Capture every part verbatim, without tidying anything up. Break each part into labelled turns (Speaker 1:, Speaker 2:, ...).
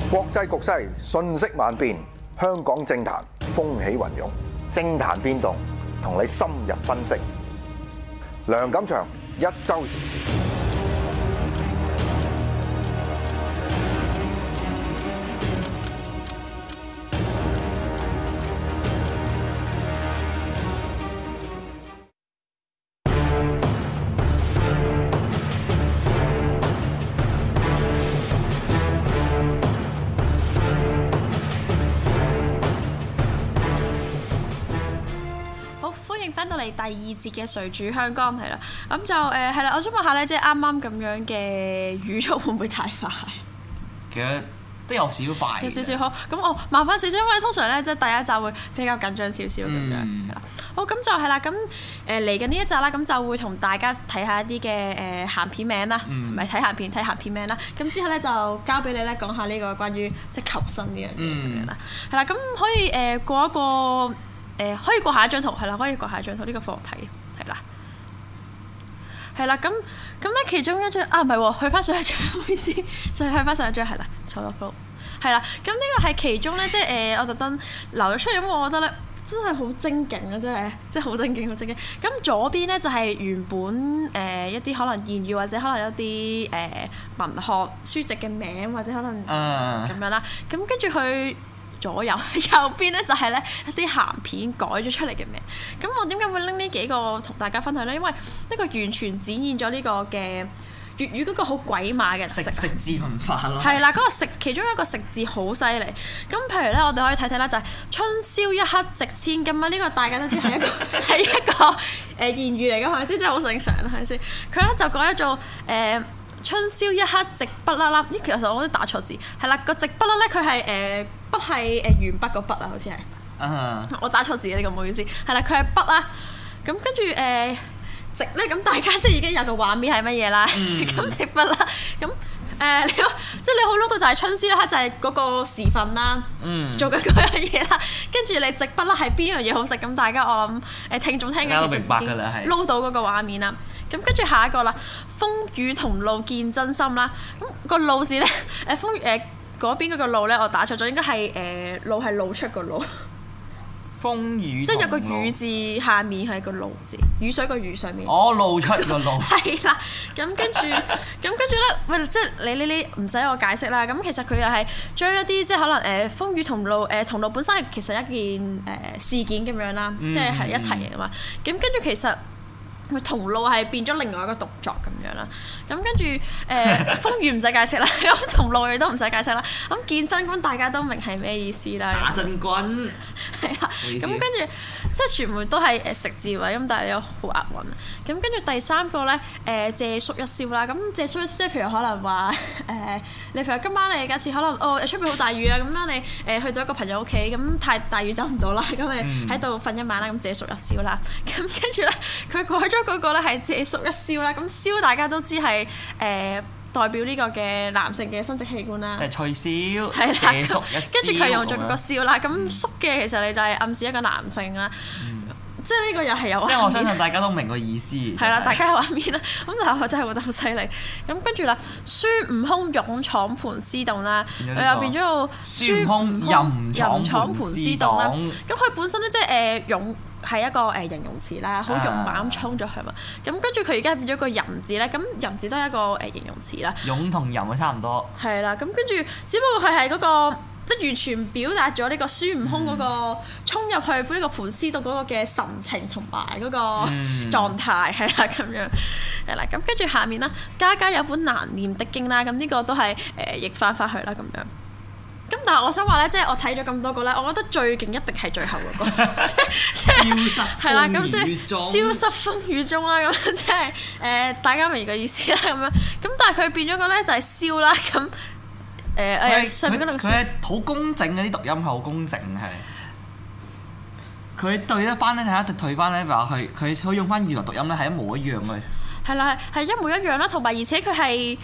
Speaker 1: 國際局勢瞬息萬變，香港政壇風起雲湧，政壇變動同你深入分析。梁錦祥一週時事。
Speaker 2: 第二節嘅誰主香江係啦，咁就誒係啦，我想問下咧，即係啱啱咁樣嘅語速會唔會太快？
Speaker 3: 其實都有少少快，
Speaker 2: 有少少好。咁我慢翻少少，因為通常咧即係第一集會比較緊張少少咁樣。係啦、嗯，好咁就係啦，咁誒嚟緊呢一集啦，咁就會同大家睇下一啲嘅誒鹹片名啦，唔係睇鹹片睇鹹片名啦。咁之後咧就交俾你咧講下呢個關於即係求生呢樣嘢咁樣啦。係啦、嗯，咁可以誒過一個。誒可以過下一張圖，係啦，可以過下一張圖呢、這個課題係啦，係啦，咁咁咧其中一張啊唔係喎，去翻上一張，唔好意思，就係去翻上一張係啦，錯咗 flow 係啦，咁呢個係其中咧，即係誒、呃、我特登留咗出嚟，咁我覺得咧真係好精勁啊，真係即係好精勁，好精勁。咁左邊咧就係原本誒、呃、一啲可能言語或者可能有啲誒、呃、文學書籍嘅名或者可能咁樣啦，咁跟住佢。左右右邊咧就係咧一啲鹹片改咗出嚟嘅名，咁我點解會拎呢幾個同大家分享咧？因為呢個完全展現咗呢個嘅粵語嗰個好鬼馬嘅食
Speaker 3: 食食字文化咯。
Speaker 2: 係啦，嗰、那個食其中一個食字好犀利。咁譬如咧，我哋可以睇睇啦，就係春宵一刻值千金啊！呢、這個大家都知係一個係一個誒言語嚟嘅，係咪先？真係好正常啦，係咪先？佢咧就改咗做誒。呃春宵一刻直筆啦啦，咦其實我都打錯字，係啦個直筆啦咧佢係誒筆係誒鉛筆個筆啊，好似係，uh huh. 我打錯字呢、呢個唔好意思，係啦佢係筆啦，咁跟住誒直咧咁大家即係已經有個畫面係乜嘢啦，咁、mm. 直筆啦，咁誒、呃、你即係你好攞到就係春宵一刻就係嗰個時分啦，mm. 做緊嗰樣嘢啦，跟住你直筆啦係邊樣嘢好食，咁大家我諗誒聽眾聽緊其實已經撈到嗰個畫面啦。咁跟住下一個啦，風雨同路見真心啦。咁、那個路字咧，誒風誒嗰邊嗰個路咧，我打錯咗，應該係誒、呃、路係露出個路。
Speaker 3: 風雨
Speaker 2: 即係有個雨字下面係個路字，雨水個雨上面。
Speaker 3: 哦，露出個路。
Speaker 2: 係啦，咁跟住，咁跟住咧，喂，即係你呢啲唔使我解釋啦。咁其實佢又係將一啲即係可能誒、呃、風雨同路誒同路本身係其實一件誒、呃、事件咁樣啦，即係係一齊嘅嘛。咁跟住其實。佢同路係變咗另外一個動作咁樣啦，咁跟住誒、呃、風雨唔使解釋啦，咁同路亦都唔使解釋啦，咁健身咁大家都明係咩意思啦？
Speaker 3: 打真軍
Speaker 2: 係啊，咁跟住即係全部都係誒食字位，咁但係你又好押韻。咁跟住第三個咧誒、呃、借宿一宵啦，咁借宿一宵即係譬如可能話誒、呃、你譬如今晚你假設可能哦出邊好大雨啊，咁樣你誒、呃、去到一個朋友屋企，咁太大雨走唔到啦，咁你喺度瞓一晚啦，咁借宿一宵啦，咁跟住咧佢改咗。嗰個咧係借宿一宵啦，咁宵大家都知係誒、呃、代表呢個嘅男性嘅生殖器官啦，
Speaker 3: 即係吹簫，
Speaker 2: 係啦，
Speaker 3: 借宿一宵，
Speaker 2: 跟住佢用咗個宵啦，咁、嗯、宿嘅其實你就係暗示一個男性啦，嗯、即係呢個又係有畫面，
Speaker 3: 即係我相信大家都明個意思，
Speaker 2: 係啦，大家有畫面啦，咁但係我真係覺得好犀利，咁跟住啦，孫悟空勇闖盤絲洞啦，佢又變咗個
Speaker 3: 孫悟空任闖盤絲洞啦，
Speaker 2: 咁佢本身咧即係誒勇。係一個誒形容詞啦，好勇猛咁衝咗去嘛。咁跟住佢而家變咗個淫字咧，咁淫字都係一個誒形容詞啦。
Speaker 3: 勇同淫啊差唔多。係
Speaker 2: 啦，咁跟住只不過佢係嗰個即係完全表達咗呢個孫悟空嗰個衝入去呢個盤絲洞嗰個嘅神情同埋嗰個狀態係啦咁樣係啦。咁跟住下面啦，家家有本難念的經啦，咁呢個都係誒譯翻翻去啦咁樣。咁但係我想話咧，即係我睇咗咁多個咧，我覺得最勁一定係最後嗰個，即係
Speaker 3: 消失
Speaker 2: 係啦，咁即係消失風雨中啦，咁即係誒大家明個意思啦，咁樣咁但係佢變咗個咧就係燒啦，咁誒誒上面嗰兩個燒，
Speaker 3: 佢係好工整嘅，啲讀音係好工整係。佢對得翻咧，睇下退翻咧，話佢佢佢用翻原來讀音咧係一模一樣嘅。
Speaker 2: 係啦，係係一模一樣啦，同埋而且佢係。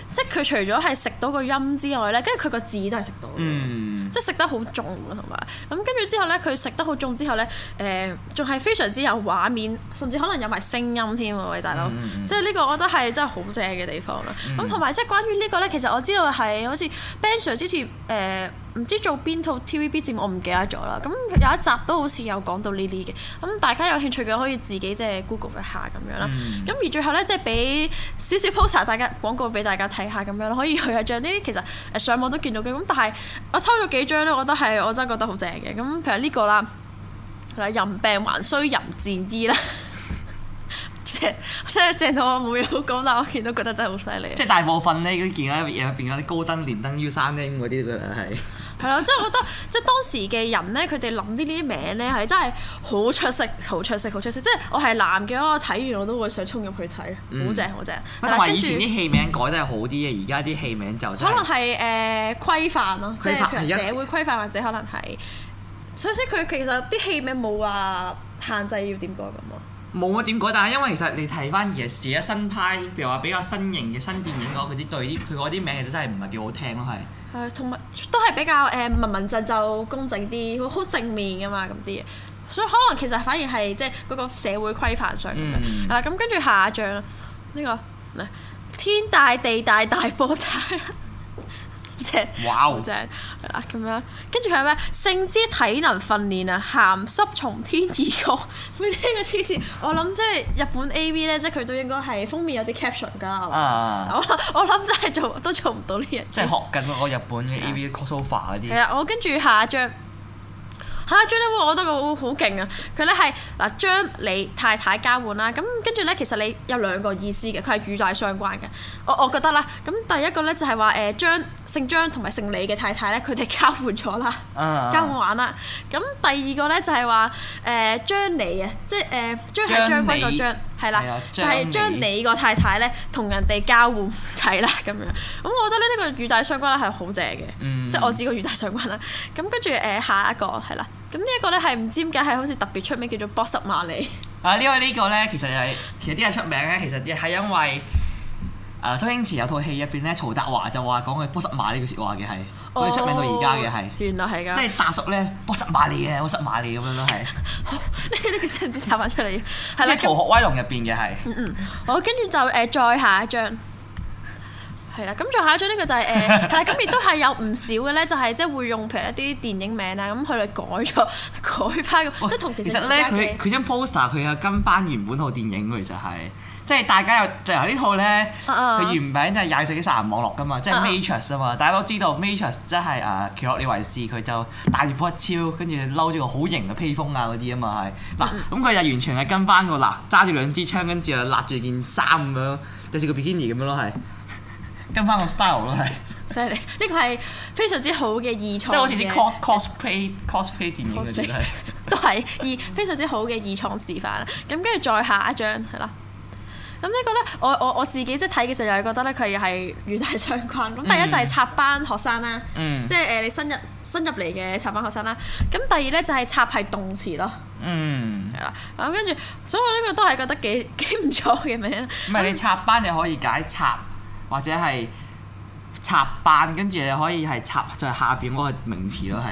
Speaker 2: 即係佢除咗係食到個音之外咧，跟住佢個字都係食到，嗯、即係食得好重同埋咁跟住之後咧，佢食得好重之後咧，誒仲係非常之有畫面，甚至可能有埋聲音添喎，喂大佬，嗯、即係呢個我覺得係真係好正嘅地方啦。咁同埋即係關於呢個咧，其實我知道係好似 Ben Sir 之前誒。呃唔知做邊套 T V B 節目，我唔記得咗啦。咁有一集都好似有講到呢啲嘅，咁大家有興趣嘅可以自己即係 Google 一下咁樣啦。咁、嗯、而最後咧，即係俾少少 poster 大家廣告俾大家睇下咁樣，可以去下張呢啲其實誒上網都見到嘅。咁但係我抽咗幾張咧，我覺得係我真係覺得好正嘅。咁譬如呢個啦，係啦，人病還需人戰醫啦。即係即係正到我冇嘢好講，但我見到覺得真係好犀利。即係
Speaker 3: 大部分咧，嗰件咧入邊嗰啲高登、連登、U 三 M 嗰啲㗎係。
Speaker 2: 係咯，即係我覺得，即係當時嘅人咧，佢哋諗呢啲名咧係真係好出色、好出色、好出色。即係我係男嘅，我睇完我都會想衝入去睇，好正好正。
Speaker 3: 同埋以前啲戲名改得係好啲嘅，而家啲戲名就
Speaker 2: 可能係誒規範咯，即係譬如社會規範或者可能係，所以即佢其實啲戲名冇話限制要點改咁咯。
Speaker 3: 冇乜點改，但係因為其實你睇翻而家新派，譬如話比較新型嘅新電影嗰啲對啲佢嗰啲名其實真係唔係幾好聽咯，係。係，同埋都係比較誒文文靜就公正啲，好好正面噶嘛咁啲嘢，所以可能其實反而係即係嗰個社會規範上咁樣。嗱咁跟住下一張啦，呢個嗱天大地大大波大。正， 哇！
Speaker 2: 正係啦，咁樣跟住係咩？性之體能訓練啊，鹹濕從天而降。咩呢個黐線？我諗即係日本 A V 咧，即係佢都應該係封面有啲 caption 㗎。啊！我我諗真係做都做唔到呢樣。即係
Speaker 3: 學緊嗰個日本嘅 A V crossover 嗰啲。
Speaker 2: 係啊，我跟住下一張。下一張咧，我覺得佢好勁啊！佢咧係嗱將你太太交換啦，咁跟住咧其實你有兩個意思嘅，佢係語帶相關嘅。我我覺得啦，咁第一個咧就係話誒將姓張同埋姓李嘅太太咧，佢哋交換咗啦，啊、交換玩啦。咁第二個咧就係話誒將你啊，即係誒將係將軍個將，係啦，就係將你個太太咧同人哋交換齊啦咁樣。咁我覺得呢呢個語帶相關咧係好正嘅，嗯、即係我知個語帶相關啦。咁跟住誒下一個係啦。咁呢一個咧係唔知點解係好似特別出名，叫做波什馬里。
Speaker 3: 啊，呢個呢個咧其實係其實啲人出名咧，其實亦係因為誒周星馳有套戲入邊咧，曹達華就話講佢波什馬呢句説話嘅係，所以出名到而家嘅係。原來係㗎。即係大叔咧，波什馬里嘅，波什馬里咁樣咯係。好，呢呢個真唔知插翻出嚟。係啦，《逃學威龍》入邊嘅係。嗯嗯。
Speaker 2: 好，跟住就誒再下一張。係啦，咁再下一張呢個就係誒係啦，咁亦都係有唔少嘅咧，就係即係會用譬如一啲電影名啊，咁佢哋改咗改翻個，即係同其實。
Speaker 3: 其實咧，佢佢張 poster 佢有跟翻原本套電影嘅，其實係，即係大家有最後呢套咧，佢原名就係廿世紀殺人網絡噶嘛，即係 Matrix 啊嘛，大家都知道 Matrix 即係誒奇洛李維斯，佢就帶住波一超，跟住嬲咗個好型嘅披風啊嗰啲啊嘛係，嗱咁佢就完全係跟翻個嗱揸住兩支槍，跟住又揦住件衫咁樣，就似個 bikini 咁樣咯係。跟翻個 style 咯，係
Speaker 2: 犀利！呢個係非常之好嘅二創，即
Speaker 3: 係好似啲 cosplay cosplay 電影嗰啲係，
Speaker 2: 都係二非常之好嘅二創示範啦。咁跟住再下一張係啦。咁呢個咧，我我我自己即係睇嘅時候又係覺得咧，佢又係語帶相關。咁、嗯、第一就係插班學生啦，嗯、即係誒你新入新入嚟嘅插班學生啦。咁第二咧就係插係動詞咯，嗯，係啦。咁跟住，所以我呢個都係覺得幾幾唔錯嘅名。
Speaker 3: 唔係你插班你可以解插。或者係插班，跟住你可以係插在下邊嗰個名詞咯，係。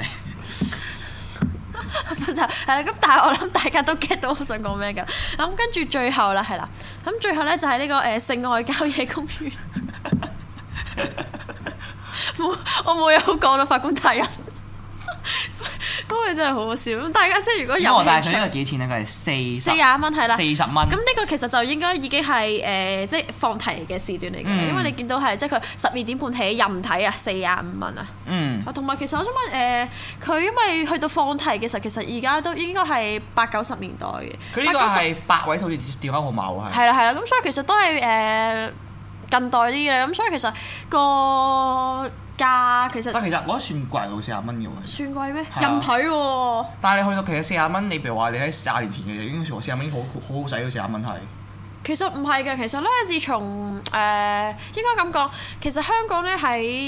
Speaker 2: 就係啦，咁但係我諗大家都 get 到我想講咩㗎。咁跟住最後啦，係啦，咁最後咧就係呢、這個誒、呃、性愛郊野公園。冇，我冇嘢好講啦，法官大人。因為真係好好笑，咁大家即係如果有興趣，
Speaker 3: 但係佢呢個幾錢咧？佢係四
Speaker 2: 四廿蚊係啦，
Speaker 3: 四十蚊。
Speaker 2: 咁呢個其實就應該已經係誒、呃，即係放題嘅時段嚟嘅，嗯、因為你見到係即係佢十二點半起任睇啊，四廿五蚊啊。嗯。同埋其實我想問誒，佢、呃、因為去到放題嘅時候，其實而家都應該係八九十年代嘅。
Speaker 3: 佢呢個係八位數字電話號碼喎，係。
Speaker 2: 係啦係啦，咁所以其實都係誒、呃、近代啲嘅，咁所以其實個。價其實，
Speaker 3: 但其實我覺得算貴喎，四十蚊嘅喎。
Speaker 2: 算貴咩？任睇喎。
Speaker 3: 但係你去到其實四十蚊，你譬如話你喺廿年前嘅已經四十蚊已經好好好使咯，四十蚊係。
Speaker 2: 其實唔係嘅，其實咧，自從誒、呃、應該咁講，其實香港咧喺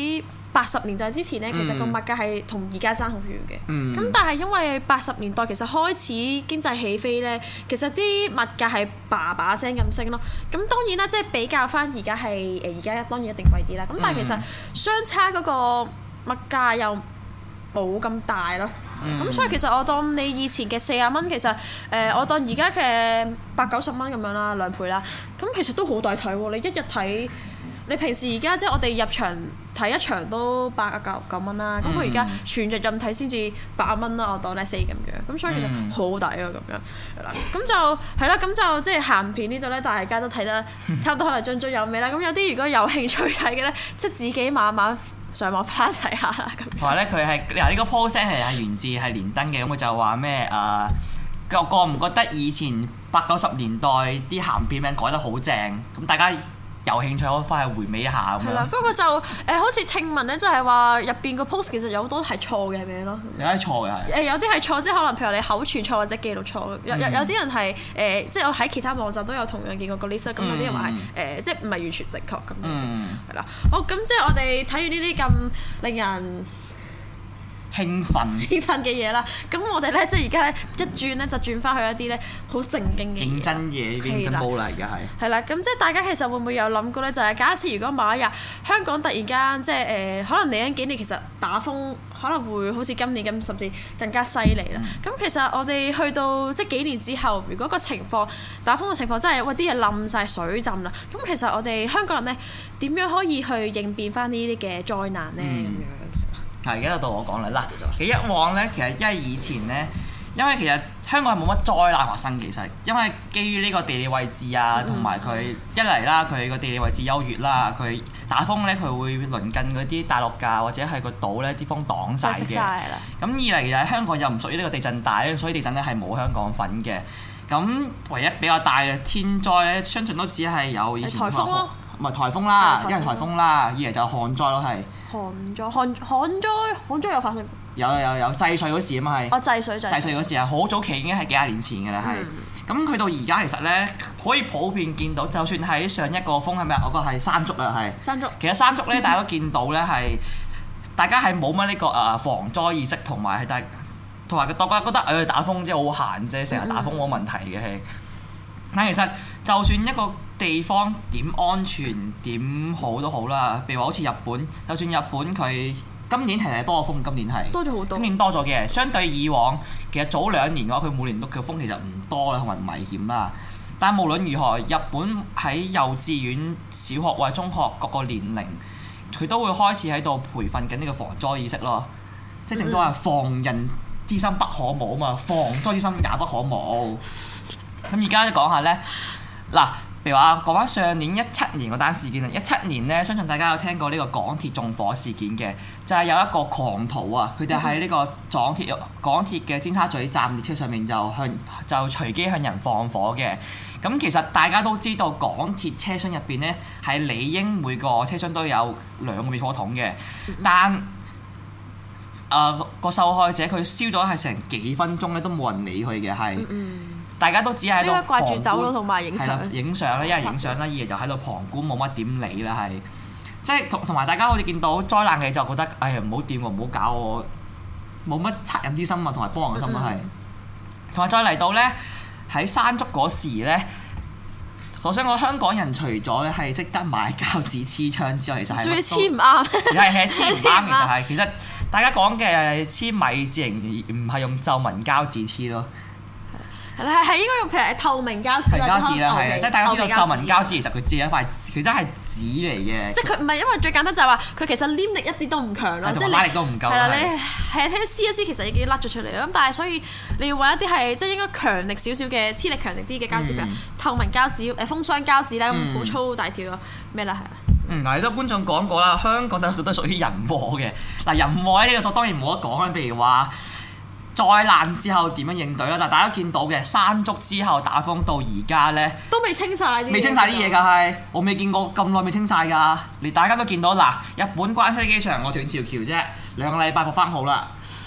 Speaker 2: 八十年代之前咧，其實個物價係同而家爭好遠嘅。咁、
Speaker 3: 嗯、
Speaker 2: 但係因為八十年代其實開始經濟起飛咧，其實啲物價係叭叭聲咁升咯。咁當然啦，即係比較翻而家係誒而家當然一定貴啲啦。咁但係其實相差嗰個物價又冇咁大咯。咁、嗯、所以其實我當你以前嘅四十蚊，其實誒、呃、我當而家嘅八九十蚊咁樣啦，兩倍啦。咁其實都好抵睇喎！你一日睇。你平時而家即係我哋入場睇一場都八啊九九蚊啦，咁佢而家全日任睇先至八蚊啦，我當咧四咁樣，咁所以其實好抵啊咁樣，係啦，咁就係啦，咁就即係鹹片呢度咧，大家都睇得差唔多，可能津津有味啦。咁有啲如果有興趣睇嘅咧，即係自己慢慢上網翻睇下啦。咁
Speaker 3: 同埋咧，佢係嗱呢個 post 係係源自係連登嘅，咁佢就話咩誒？覺覺唔覺得以前八九十年代啲鹹片名改得好正？咁大家有興趣可以翻去回味一下咁樣。係啦，
Speaker 2: 不過就誒、呃，好似聽聞咧，就係話入邊個 post 其實有好多係錯嘅名咯。
Speaker 3: 有啲錯嘅係。誒
Speaker 2: 有啲係錯，即係可能譬如你口傳錯或者記錄錯。有有有啲人係誒、呃，即係我喺其他網站都有同樣見過個 list，咁有啲人話係誒，即係唔係完全正確咁樣。嗯。係啦，好，咁即係我哋睇完呢啲咁令人
Speaker 3: 興奮
Speaker 2: 興奮嘅嘢啦，咁我哋咧即係而家咧一轉咧就轉翻去一啲咧好正經嘅
Speaker 3: 認真嘢，認真冇嚟嘅係。
Speaker 2: 係啦，咁即係大家其實會唔會有諗過咧？就係、是、假設如果某一日香港突然間即係誒、呃，可能嚟緊幾年其實打風可能會好似今年咁，甚至更加犀利啦。咁、嗯、其實我哋去到即係幾年之後，如果個情況打風嘅情況真係喂啲嘢冧晒水浸啦，咁其實我哋香港人咧點樣可以去應變翻呢啲嘅災難咧？咁樣、嗯。
Speaker 3: 係，而家就到我講啦。嗱，其實一往咧，其實因為以前咧，因為其實香港係冇乜災難發生。其實因為基於呢個地理位置啊，同埋佢一嚟啦，佢個地理位置優越啦，佢打風咧，佢會鄰近嗰啲大陸㗎，或者係個島咧，啲風擋晒嘅。咁二嚟其實香港又唔屬於呢個地震帶，所以地震咧係冇香港份嘅。咁唯一比較大嘅天災咧，相信都只係有以前颱風咯。唔係颱風啦，一係颱風啦，二嚟就旱災咯，係。
Speaker 2: 旱災、旱旱災、旱災有發生？
Speaker 3: 有有有，制水嗰時啊嘛係。
Speaker 2: 哦，制水制水。制水
Speaker 3: 嗰時啊，好早期已經係幾廿年前嘅啦，係。咁去、嗯、到而家其實咧，可以普遍見到，就算喺上一個風係咪啊？我個係山竹啊，係。山竹。其實山竹咧，大家都見到咧係，大家係冇乜呢個誒防災意識，同埋係大，同埋大家覺得誒、呃、打風即係好閒啫，成日打風冇問題嘅係。但其實就算一個地方點安全點好都好啦，譬如話好似日本，就算日本佢今年其實多風，今年係
Speaker 2: 多咗好多，今
Speaker 3: 年多咗嘅，相對以往其實早兩年嘅話，佢每年都嘅風其實唔多啦，同埋唔危險啦。但係無論如何，日本喺幼稚園、小學或者中學各個年齡，佢都會開始喺度培訓緊呢個防災意識咯。即係正所謂防人之心不可無啊嘛，防災之心也不可無。咁而家講下咧，嗱，譬如話講翻上年一七年嗰單事件啊，一七年咧，相信大家有聽過呢個港鐵縱火事件嘅，就係、是、有一個狂徒啊，佢哋喺呢個港鐵港鐵嘅尖沙咀站列車上面就向就隨機向人放火嘅。咁其實大家都知道港鐵車廂入邊咧係理應每個車廂都有兩個滅火筒嘅，但誒、呃、個受害者佢燒咗係成幾分鐘咧都冇人理佢嘅係。大家都只係喺度掛住走咯，同埋影相。影相啦，一係影相啦，二係就喺度旁觀，冇乜點理啦，係。即係同同埋大家好似見到災難嘅就覺得，哎呀唔好掂喎，唔好搞我，冇乜惻隱之心啊，同埋幫人嘅心啊，係。同埋再嚟到咧，喺山竹嗰時咧，我想講香港人除咗咧係識得買膠紙黐窗之外，其實係。仲要黐唔啱。係係黐唔啱，其實係。其實大家講嘅黐米字形，唔係用皺紋膠紙黐咯。
Speaker 2: 係係應該用譬如透明膠紙
Speaker 3: 啦，係啊，即係大家知道皺紋膠紙其實佢只係一塊，佢真係紙嚟嘅。即係
Speaker 2: 佢唔係因為最簡單就係話佢其實黏力一啲都唔強咯，即係
Speaker 3: 拉力都唔夠。係
Speaker 2: 啦，你係聽撕一撕其實已經甩咗出嚟啦。咁但係所以你要揾一啲係即係應該強力少少嘅黐力強力啲嘅膠紙，譬如透明膠紙、誒封箱膠紙咧，咁好粗大條咯，咩啦係啊？
Speaker 3: 嗯，嗱，都觀眾講過啦，香港多數都屬於人禍嘅。嗱，人禍呢個就當然冇得講啦，譬如話。災難之後點樣應對啦？但係大家見到嘅山竹之後打風到而家咧，
Speaker 2: 都未清晒啲，
Speaker 3: 未清晒啲嘢㗎係，我未見過咁耐未清晒㗎。你大家都見到嗱，日本關西機場我斷條橋啫，兩個禮拜復翻好啦。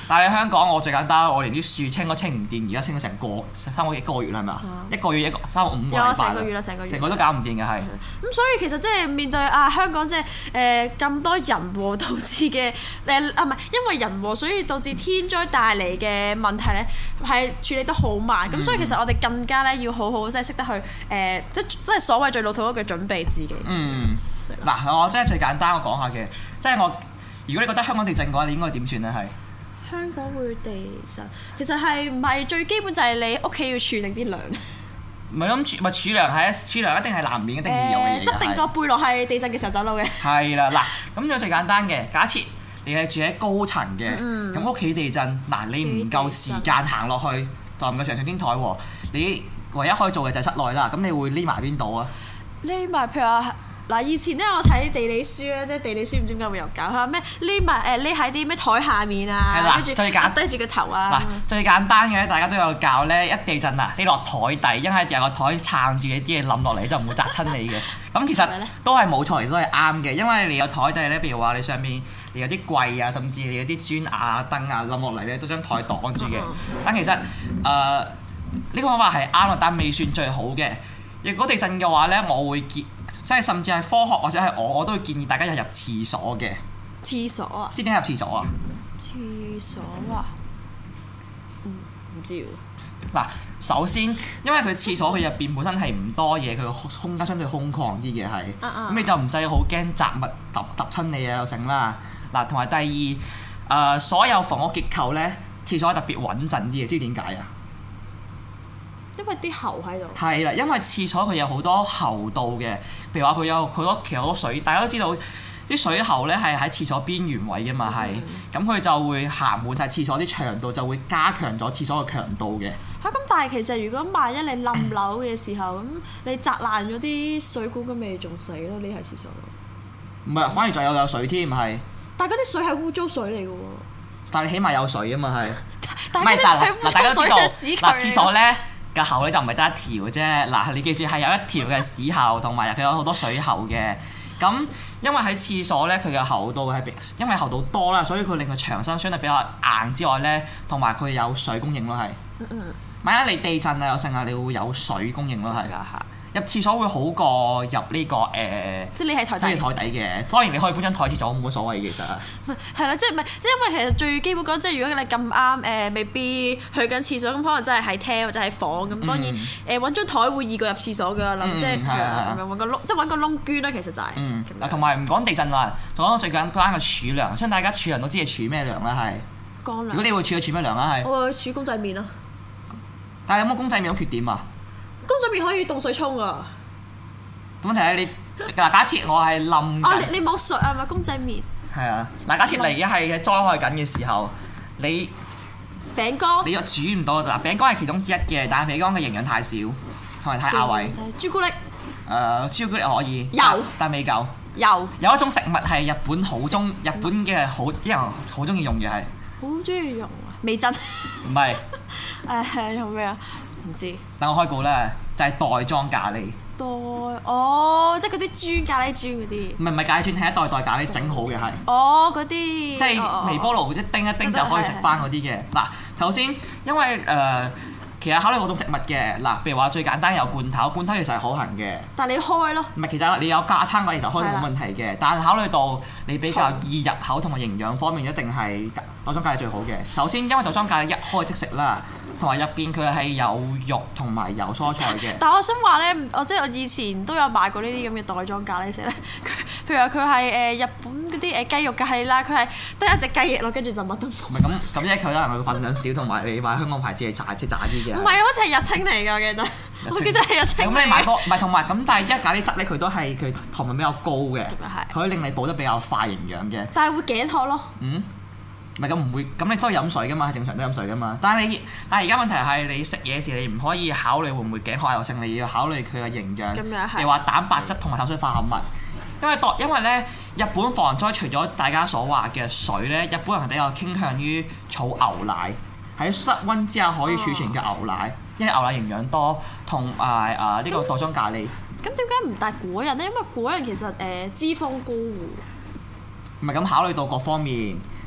Speaker 3: 但係香港我最簡單，我連啲樹清都清唔掂，而家清咗成個三個幾個月啦，係咪啊？一個月一個三個五個禮拜。有
Speaker 2: 成個月啦，成個月。
Speaker 3: 成個都搞唔掂嘅係。
Speaker 2: 咁所以其實即係面對啊香港即係誒咁多人禍導致嘅誒啊唔係因為人禍所以導致天災帶嚟嘅問題咧係處理得好慢，咁、嗯、所以其實我哋更加咧要好好即係識得去誒、呃、即即係所謂最老土嗰句準備自己。嗯。
Speaker 3: 嗱吧，我真係最簡單我講下嘅，即係我如果你覺得香港地震嘅話，你應該點算咧？係。
Speaker 2: 香港會地震，其實係唔係最基本就係你屋企要儲定啲糧？
Speaker 3: 唔係咁儲，咪儲糧係儲糧一定係難免一定要有嘅嘢。
Speaker 2: 執定個背囊係地震嘅時候走佬嘅。
Speaker 3: 係啦，嗱，咁就最簡單嘅，假設你係住喺高層嘅，咁屋企地震，嗱你唔夠時間行落去，就唔夠成上天台喎，你唯一可以做嘅就係室內啦。咁你會匿埋邊度啊？
Speaker 2: 匿埋譬如話。嗱，以前咧我睇地理書咧，即係地理書唔知點解會有教，佢話咩匿埋誒匿喺啲咩台下面啊，跟住壓低住個頭啊。
Speaker 3: 嗱，最簡單嘅大家都有教咧，一地震啊，匿落台底，因為有個台撐住你啲嘢冧落嚟，就唔會砸親你嘅。咁其實都係冇錯，亦都係啱嘅，因為你有台底咧，譬如話你上面你有啲櫃啊，甚至你有啲磚啊、燈啊冧落嚟咧，都將台擋住嘅。但其實誒呢個方法係啱啊，但未算最好嘅。如果地震嘅話咧，我會建即係甚至係科學或者係我我都會建議大家入入廁所嘅。
Speaker 2: 廁所啊？
Speaker 3: 知點解入廁所啊？
Speaker 2: 廁所啊？嗯，唔知喎。
Speaker 3: 嗱，首先因為佢廁所佢入邊本身係唔多嘢，佢個空間相對空曠啲嘅係，咁、uh uh. 你就唔使好驚雜物揼揼親你啊又成啦。嗱，同埋第二誒、呃，所有房屋結構咧，廁所特別穩陣啲嘅，知點解啊？
Speaker 2: 因為啲喉喺度。係
Speaker 3: 啦，因為廁所佢有好多喉道嘅，譬如話佢有好多其實好多水，大家都知道啲水喉咧係喺廁所邊緣位嘅嘛係，咁佢、嗯、就會行滿晒廁所啲長度，就會加強咗廁所嘅強度嘅。
Speaker 2: 嚇、啊！咁但係其實如果萬一你冧樓嘅時候，咁、嗯、你砸爛咗啲水管，咁咪仲死咯？匿喺廁所度。
Speaker 3: 唔係，反而仲有有水添係。
Speaker 2: 但係嗰啲水係污糟水嚟嘅喎。
Speaker 3: 但係你起碼有水啊嘛係。
Speaker 2: 但係啲水污糟水嘅屎渠。
Speaker 3: 嗱，廁所咧。個喉咧就唔係得一條嘅啫，嗱你記住係有一條嘅屎喉，同埋佢有好多水喉嘅。咁因為喺廁所咧，佢嘅喉道係因為喉道多啦，所以佢令佢牆身相對比較硬之外咧，同埋佢有水供應咯係。嗯嗯。萬一你地震啊有剩啊，你會有水供應咯係。入廁所會好過入呢、這個誒，呃、
Speaker 2: 即係你喺台底，
Speaker 3: 即係台底嘅。當然你可以搬張台廁所冇乜所謂嘅其實。
Speaker 2: 係啦，即係唔係即係因為其實最基本講，即係如果你咁啱誒，未必去緊廁所，咁可能真係喺廳或者喺房咁。當然誒揾、嗯、張台會易過入廁所㗎，諗、嗯、即係咁樣揾個窿，即係揾個窿捐啦。其實就係、是。嗯。嗱，同埋唔講地震啦，同講最簡單嘅儲糧，相信大家儲糧都知係儲咩糧啦係。乾糧。如果你會儲，儲咩糧啦係？我會儲公仔麵咯。但係有冇公仔麵有缺點啊？公仔麵可以凍水沖啊！
Speaker 3: 問題係你嗱，假設我係冧
Speaker 2: 啊，你你冇水啊？咪公仔麵
Speaker 3: 係啊！嗱，假設你而家係災害緊嘅時候，你
Speaker 2: 餅乾
Speaker 3: 你又煮唔到嗱，餅乾係其中之一嘅，但係餅乾嘅營養太少，同埋太亞位。
Speaker 2: 朱古力
Speaker 3: 誒，朱古力可以
Speaker 2: 有，
Speaker 3: 但未夠。
Speaker 2: 有
Speaker 3: 有一種食物係日本好中，日本嘅好啲人好中意用嘅係。
Speaker 2: 好中意用啊！味噌
Speaker 3: 唔係
Speaker 2: 誒用咩啊？唔知。
Speaker 3: 等我開估啦，就係袋裝咖喱。
Speaker 2: 袋哦，即係嗰啲磚咖喱磚嗰啲。唔
Speaker 3: 係唔係咖喱磚，係一袋袋咖喱整好嘅係。
Speaker 2: 哦，嗰啲。
Speaker 3: 即係微波爐一叮一叮就可以食翻嗰啲嘅。嗱，首先因為誒、呃，其實考慮好多食物嘅。嗱，譬如話最簡單有罐頭，罐頭其實係可行嘅。
Speaker 2: 但係你開咯。唔係，
Speaker 3: 其實你有架撐嗰啲就開冇問題嘅。的但係考慮到你比較易入口同埋營養方面，一定係袋裝咖喱最好嘅。首先因為袋裝咖喱一開即食啦。同埋入邊佢係有肉同埋有蔬菜嘅。
Speaker 2: 但係我想話咧，我即係我以前都有買過呢啲咁嘅袋裝咖喱食咧。佢譬如話佢係誒日本嗰啲誒雞肉咖喱啦，佢係得一隻雞翼咯，跟住就乜都冇。唔係
Speaker 3: 咁咁，因為佢可能佢份量少，同埋你買香港牌子係炸即係炸啲嘅。
Speaker 2: 唔係，好似係日清嚟㗎，我記得。清我記得係日清。
Speaker 3: 咁你買多唔係同埋咁，但係一咖喱汁咧，佢都係佢糖分比較高嘅，佢可以令你補得比較快營養嘅。
Speaker 2: 但係會頸渴咯。嗯。
Speaker 3: 唔係咁唔會，咁你都係飲水噶嘛，正常都飲水噶嘛。但係你，但係而家問題係你食嘢時，你唔可以考慮會唔會頸渴又剩，你要考慮佢嘅營養。咁樣係。又話蛋白質同埋碳水化合物，因為當因為咧，日本防災除咗大家所話嘅水咧，日本人係比較傾向於儲牛奶，喺室溫之下可以儲存嘅牛奶，哦、因為牛奶營養多，同埋啊呢個袋裝咖喱。
Speaker 2: 咁點解唔帶果仁咧？因為果仁其實誒、呃、脂肪高喎。
Speaker 3: 唔係咁考慮到各方面。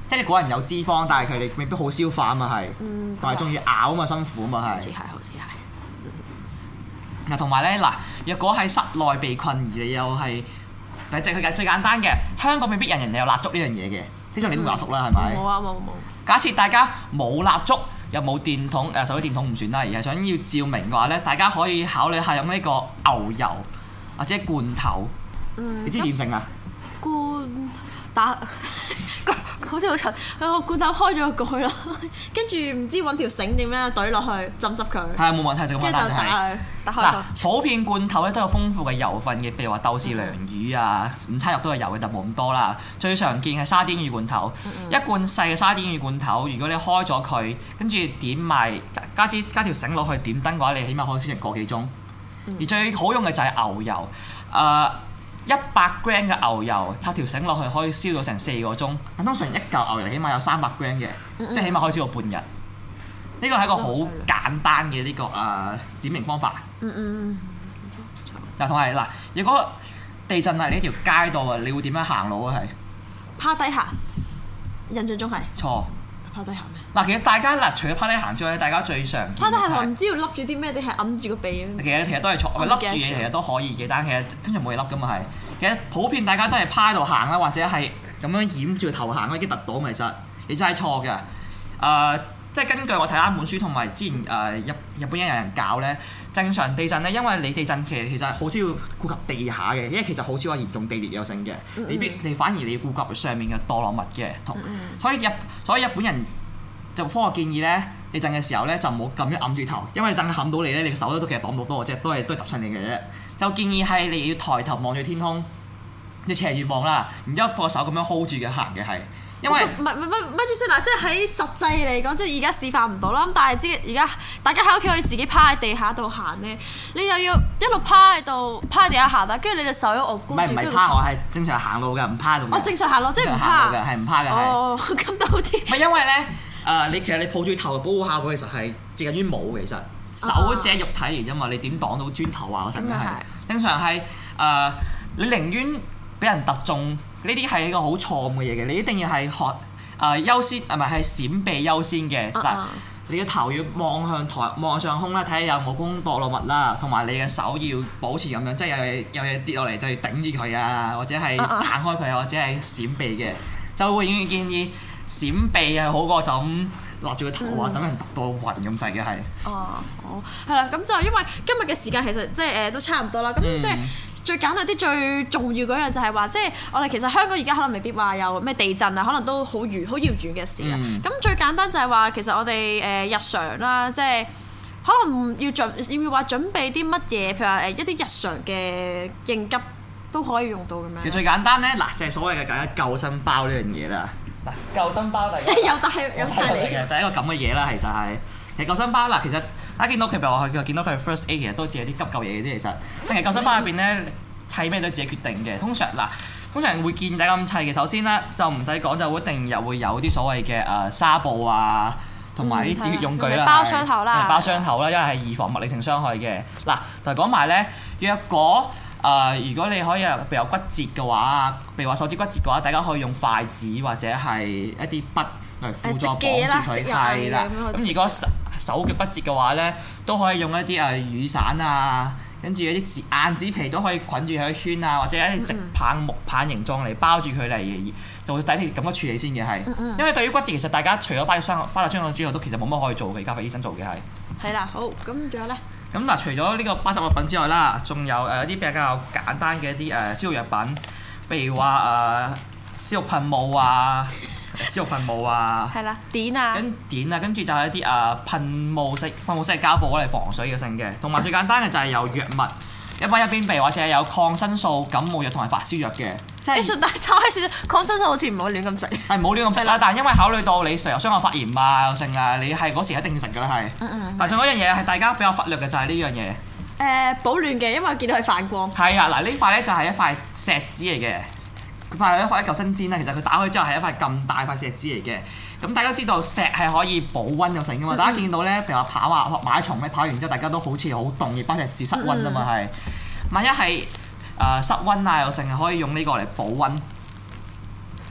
Speaker 3: 即係你個人有脂肪，但係佢哋未必好消化啊嘛係，同埋仲要咬啊嘛，辛苦啊嘛係。
Speaker 2: 好似係，好似係。
Speaker 3: 嗱，同埋咧嗱，若果喺室內被困而你又係，嗱，即係佢最簡單嘅，香港未必人人有蠟燭呢樣嘢嘅，通常你都冇蠟燭啦，係咪？
Speaker 2: 冇啊冇冇。
Speaker 3: 假設大家冇蠟燭，又冇電筒，誒手機電筒唔算啦，而係想要照明嘅話咧，大家可以考慮下用呢個牛油或者罐頭。嗯、你知點整啊？
Speaker 2: 罐打好似好蠢，個罐頭開咗個蓋咯，跟住唔知揾條繩點樣懟落去浸濕佢。係
Speaker 3: 啊，冇問題就咁簡單。
Speaker 2: 跟住就打佢，打開個。
Speaker 3: 嗱，普遍罐頭咧都有豐富嘅油分嘅，譬如話豆豉鯪魚啊、午餐肉都係油嘅，但冇咁多啦。最常見係沙甸魚罐頭，嗯嗯一罐細嘅沙甸魚罐頭，如果你開咗佢，跟住點埋加支加條繩落去點燈嘅話，你起碼可以煎成個幾鐘。嗯、而最好用嘅就係牛油，誒、呃。一百 gram 嘅牛油插條繩落去可以燒到成四個鐘，咁通常一嚿牛油起碼有三百 gram 嘅，嗯嗯即係起碼可以燒到半日。呢個係一個好簡單嘅呢、這個誒、呃、點明方法。嗯嗯嗱，同埋嗱，如果地震喺呢條街度啊，你會點樣行路啊？係
Speaker 2: 趴低行，印象中係
Speaker 3: 錯。
Speaker 2: 趴低行咩？嗱，
Speaker 3: 其實大家嗱，除咗趴低行之外，大家最常見
Speaker 2: 趴低行唔知要笠住啲咩，定係揞住個鼻咁。
Speaker 3: 其實其實都係錯，咪笠住嘢其實都可以嘅，但係其實通常冇嘢笠噶嘛係。其實普遍大家都係趴喺度行啦，或者係咁樣掩住個頭行，已經突到其實你真係錯嘅。誒、呃，即係根據我睇啱本書同埋之前誒、呃、日日本有人教咧，正常地震咧，因為你地震其實其實好少要顧及地下嘅，因為其實好少話嚴重地裂有性嘅，你必你反而你要顧及上面嘅墮落物嘅，同所以日所以日本人就科學建議咧，地震嘅時候咧就唔好咁樣揞住頭，因為等佢冚到你咧，你個手都其實擋唔到多嘅啫，都係都係揼親你嘅啫。就建議係你要抬頭望住天空，你斜住望啦，然之後個手咁樣 hold 住嘅行嘅係，因為
Speaker 2: 唔係唔係唔係住先嗱，即係喺實際嚟講，即係而家示範唔到啦。咁但係知而家大家喺屋企可以自己趴喺地下度行咧，你又要一路趴喺度趴喺地下行啦，跟住你隻手喺度箍住。唔係
Speaker 3: 唔係趴，我係正常行路嘅，唔趴度。
Speaker 2: 我正常行路，即係唔趴
Speaker 3: 嘅，係唔趴嘅。
Speaker 2: 哦，咁都好啲。
Speaker 3: 唔係因為咧，誒、呃、你其實你抱住頭保護效果其實係接近於冇其實。手只係肉體嚟啫嘛，你點擋到磚頭啊？嗰陣係正常係誒、呃，你寧願俾人揼中，呢啲係一個好錯誤嘅嘢嘅。你一定要係學誒、呃、優先，係咪係閃避優先嘅嗱？呃、你嘅頭要望向台，望上空啦，睇下有冇公墮落物啦，同埋你嘅手要保持咁樣，即係有嘢有嘢跌落嚟就要頂住佢啊，或者係彈開佢啊，或者係閃避嘅，就會永遠建議閃避係好過就咁。落住個頭啊，等、嗯、人揼到暈咁滯嘅係。哦，
Speaker 2: 好，係啦，咁就因為今日嘅時間其實即係誒都差唔多啦。咁、嗯、即係最簡單啲、最重要嗰樣就係話，即係我哋其實香港而家可能未必話有咩地震啊，可能都好遠、好遙遠嘅事啦。咁、嗯、最簡單就係話，其實我哋誒日常啦，即係可能要準要唔要話準備啲乜嘢，譬如話誒一啲日常嘅應急都可以用到咁樣。
Speaker 3: 其實最簡單咧，嗱就係所謂嘅緊急救生包呢樣嘢啦。嗱，救生包嚟嘅，
Speaker 2: 有帶有帶嚟嘅，
Speaker 3: 就係一個咁嘅嘢啦。其實係，其實救生包嗱，其實大家見到佢譬如話佢見到佢 first aid 其實都只係啲急救嘢嘅啫。其實，但係救生包入邊咧砌咩都自己決定嘅。通常嗱，通常會建議大家咁砌嘅。首先咧就唔使講，就一定又會有啲所謂嘅誒紗布啊，同埋啲止血用具啦，
Speaker 2: 包傷口啦，
Speaker 3: 包傷口啦，因為係預防物理性傷害嘅。嗱，同埋講埋咧，若果誒、呃，如果你可以譬如有骨折嘅話，譬如話手指骨折嘅話，大家可以用筷子或者係一啲筆嚟輔助綁住佢，係啦。咁如果手手腳骨折嘅話咧，都可以用一啲誒雨傘啊，跟住一啲硬紙皮都可以捆住佢一圈啊，或者一啲直棒木棒形狀嚟包住佢嚟，就會第一次咁樣處理先嘅係。嗯嗯因為對於骨折，其實大家除咗包咗傷包咗傷口之後，都其實冇乜可以做嘅，交俾醫生做嘅係。
Speaker 2: 係啦，好，咁仲有咧？
Speaker 3: 咁嗱，除咗呢個巴實物品之外啦，仲有誒一啲比較簡單嘅一啲誒消毒藥品，譬如話誒消毒噴霧啊、消毒噴霧啊，
Speaker 2: 係啦，碘啊，
Speaker 3: 跟碘啊，跟住就係一啲誒噴霧式、噴霧式嘅膠布攞嚟防水嘅性嘅，同埋最簡單嘅就係有藥物，一包一邊鼻或者係有抗生素、感冒藥同埋發燒藥嘅。即係，
Speaker 2: 但係炒開少少抗生素好似唔好亂咁食。
Speaker 3: 係唔好亂咁食啦，但係因為考慮到你成日傷口發炎啊、又剩啊，你係嗰時一定要食㗎啦，係。嗯嗯。但仲有一樣嘢係大家比較忽略嘅就係呢樣嘢。誒、
Speaker 2: 呃，保暖嘅，因為我見到佢反光。係
Speaker 3: 啊，嗱呢塊咧就係一塊錫紙嚟嘅，佢塊係一塊一嚿新氈啦。其實佢打開之後係一塊咁大塊錫紙嚟嘅。咁大家都知道錫係可以保溫又成㗎嘛？嗯嗯大家見到咧，譬如話跑啊、馬拉松咧，跑完之後大家都好似好凍，而包錫紙室溫啊嘛係。萬一係誒室溫啊又成係可以用呢個嚟保溫。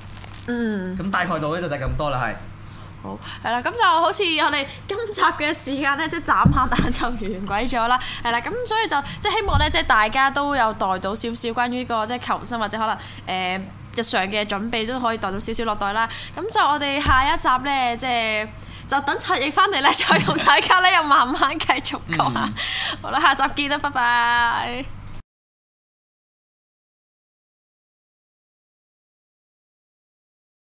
Speaker 2: 嗯。
Speaker 3: 咁大概到呢度就咁多啦，係。
Speaker 2: 好，係啦，咁就好似我哋今集嘅時間咧，即係眨下眼就完鬼咗啦，係啦，咁所以就即係希望咧，即係大家都有帶到少少關於呢個即係求生或者可能誒、呃、日常嘅準備都可以帶到少少落袋啦。咁就我哋下一集咧，即係就等陳奕翻嚟咧，再同大家咧又慢慢繼續講下。嗯、好啦，下集見啦，拜拜。